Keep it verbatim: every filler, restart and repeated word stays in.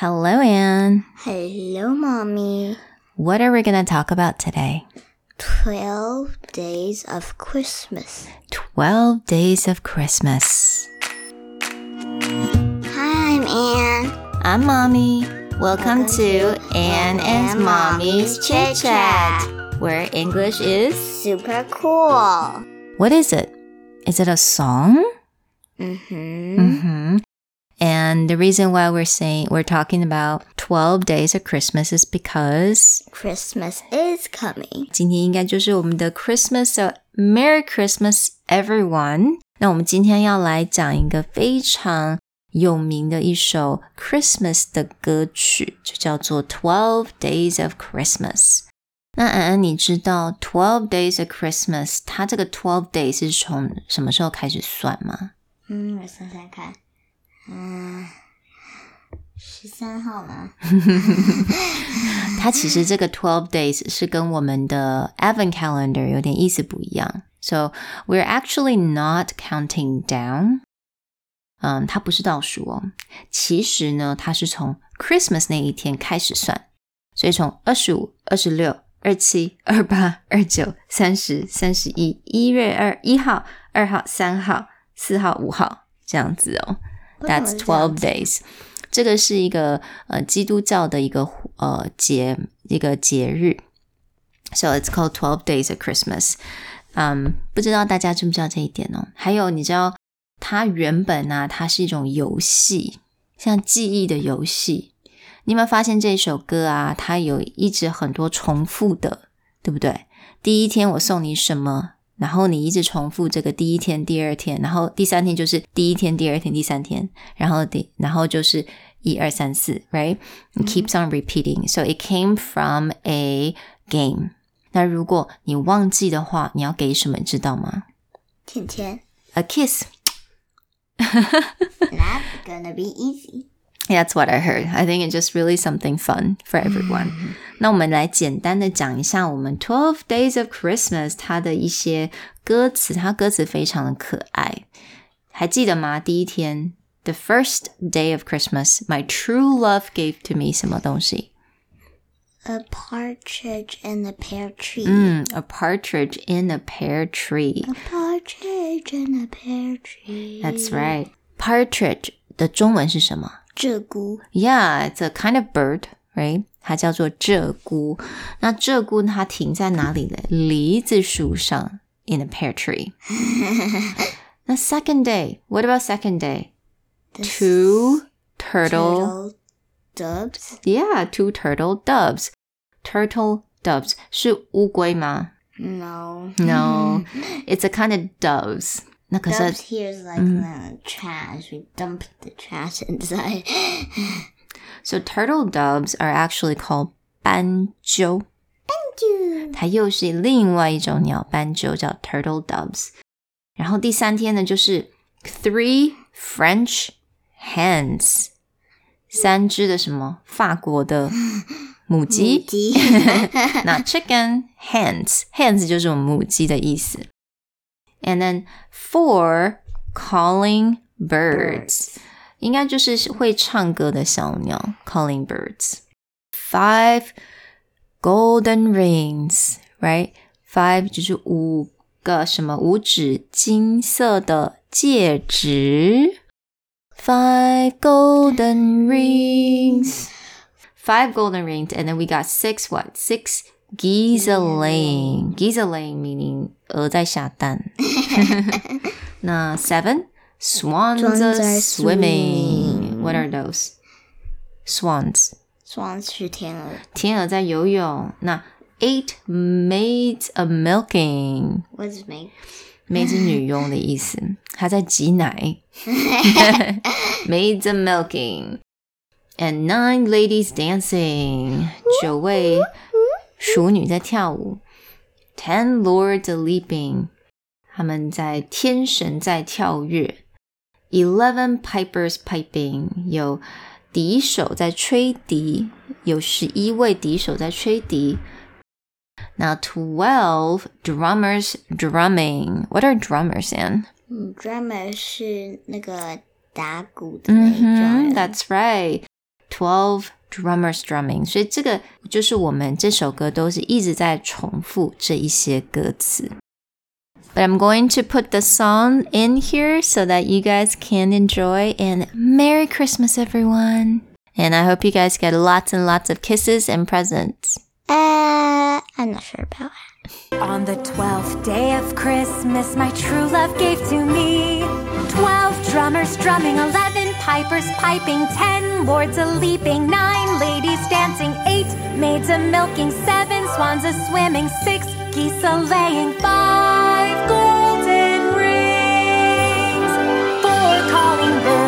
Hello, Anne. Hello, Mommy. What are we going to talk about today? Twelve Days of Christmas. Twelve Days of Christmas. Hi, I'm Anne. I'm Mommy. Welcome, Welcome to, to Anne and, and Mommy's Chit Chat, where English is super cool. What is it? Is it a song? Mm-hmm. Mm-hmm. And the reason why we're saying we're talking about twelve days of Christmas is because Christmas is coming. 今天应该就是我们的 Christmas, so Merry Christmas, everyone. 那我们今天要来讲一个非常有名的一首 Christmas 的歌曲，就叫做 Twelve Days of Christmas。那安安，你知道 Twelve Days of Christmas 它这个twelve days 是从什么时候开始算吗？ 嗯，我想想看。嗯，十三号吗？ 它其实这个twelve days 是跟我们的 Advent calendar 有点意思不一样。So we're actually not counting down. 嗯，它不是倒数哦。其实呢，它是从 Christmas 那一天开始算。所以从二十五、二十六、二十七、二十八、二十九、三十、三十一、一月二、一号、二号、三号、四号、五号这样子哦。That's twelve days. 这个是一个呃基督教的一个呃节一个节日。So it's called twelve days of Christmas. 嗯，不知道大家知不知道这一点哦？还有你知道它原本啊，它是一种游戏，像记忆的游戏。你有没有发现这首歌啊，它有一直很多重复的，对不对？第一天我送你什么？然后你一直重复这个第一天、第二天，然后第三天就是第一天、第二天、第三天，然后第然后就是一二三四 ，right? It keeps on repeating. So it came from a game. 那如果你忘记的话，你要给什么，你知道吗？ 甜甜 A kiss. That's gonna be easy.That's what I heard. I think it's just really something fun for everyone. 那我们来简单的讲一下我们 twelve Days of Christmas 它的一些歌词，它歌词非常的可爱。还记得吗？第一天 The first day of Christmas, my true love gave to me 什么东西？ A partridge in a pear tree. 嗯 A partridge in a pear tree. A partridge in a pear tree. That's right. Partridge 的中文是什么？ 鹧鸪 Yeah, it's a kind of bird, right? 它叫做鹧鸪。那鹧鸪它停在哪里呢？梨子树上 in a pear tree. 那 second day, what about second day? Two turtle, turtle doves? Yeah, two turtle doves. Turtle doves 是乌龟吗？ No. No, it's a kind of doves. 那可是 Doves here is like、嗯、the trash. We dump the trash inside. So turtle doves are actually called 斑鸠。 斑鸠它又是另外一种鸟，斑鸠叫 turtle doves。然后第三天呢，就是 three French hens， 三只的什么？法国的母鸡。 母鸡那 chicken hens hens 就是我们母鸡的意思。And then four calling birds， 应该就是会唱歌的小鸟 calling birds. Five golden rings, right? Five 就是五个什么五指金色的戒指。Five golden rings. Five golden rings, and then we got six what? Six geese laying. Geese laying meaning 鹅在下蛋。那 seven swans are swimming. What are those? Swans. Swans 是天鹅。 天鹅在游泳。那 eight maids a milking. What is maid? maid 是女佣的意思，她在挤奶。Maids a milking. And nine ladies dancing. 九位淑女在跳舞。Ten lords a leaping. 他们在天神在跳跃。Eleven pipers piping. 有笛手在吹笛，有十一位笛手在吹笛。Now twelve drummers drumming. What are drummers, Anne? 嗯 ，drummer 是那个打鼓的那种。 Mm-hmm, that's right. twelve drummers drumming， 所以这个就是我们这首歌都是一直在重复这一些歌词。But I'm going to put the song in here so that you guys can enjoy. And Merry Christmas, everyone. And I hope you guys get lots and lots of kisses and presents. Uh, I'm not sure about it. On the twelfth day of Christmas, my true love gave to me twelve drummers drumming, eleven pipers piping, ten lords a-leaping, nine ladies dancing, eight maids a-milking, seven swans a-swimming, six geese a-laying, five golden rings, four calling birds,